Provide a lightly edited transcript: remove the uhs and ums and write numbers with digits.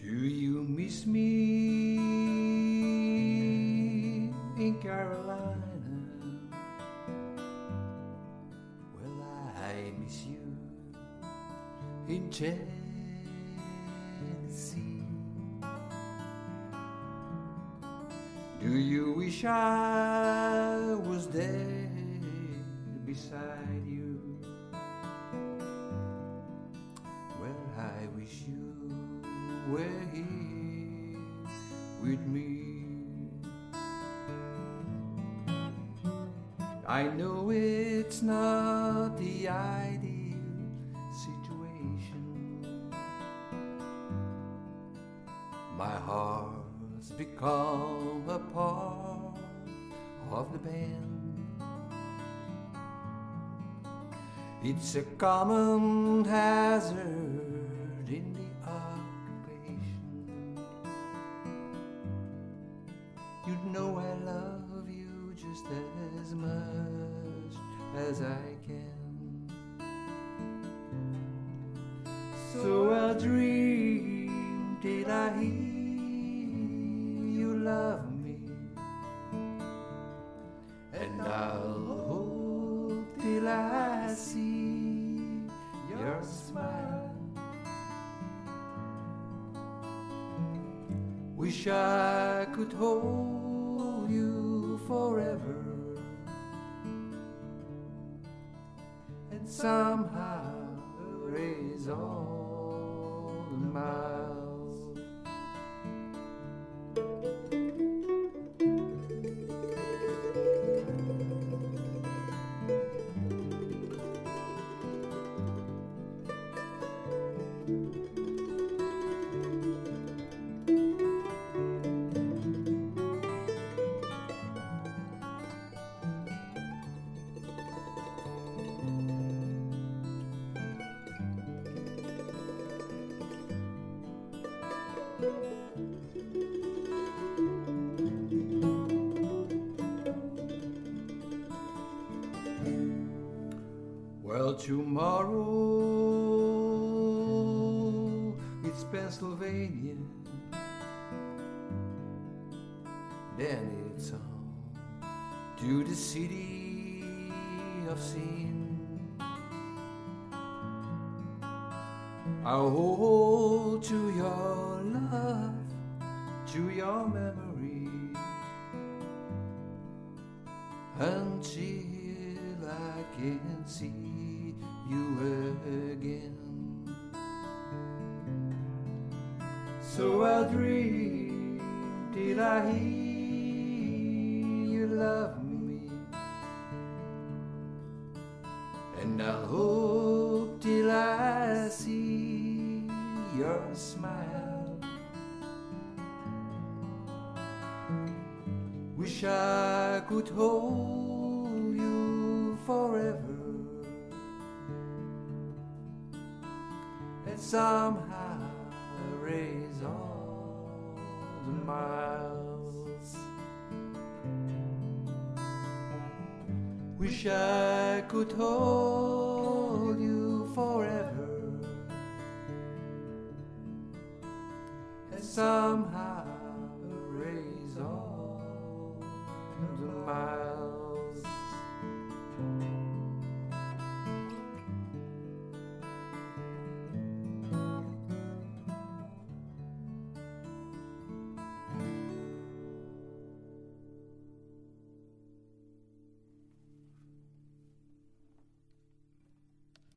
Do you miss me in Carolina? Well, I miss you in Tennessee. Do you wish I was there beside you? Well, I wish you were here with me. I know it's not the ideal situation. My heart's become a part of the band. It's a common hazard in the occupation. You know I love you just as much as I can. So I'll dream till I hear you love me, and I'll hope till I see your smile. Wish I could hold you forever, and somehow erase all the miles. Well, tomorrow it's Pennsylvania, then it's on to the city of sin. I'll hold to your love, to your memory, until I can see you again. So I'll dream till I hear you love me, and I'll hope till I see your smile. Wish I could hold you forever, and somehow erase all the miles. Wish I could hold you forever, and somehow erase all the miles.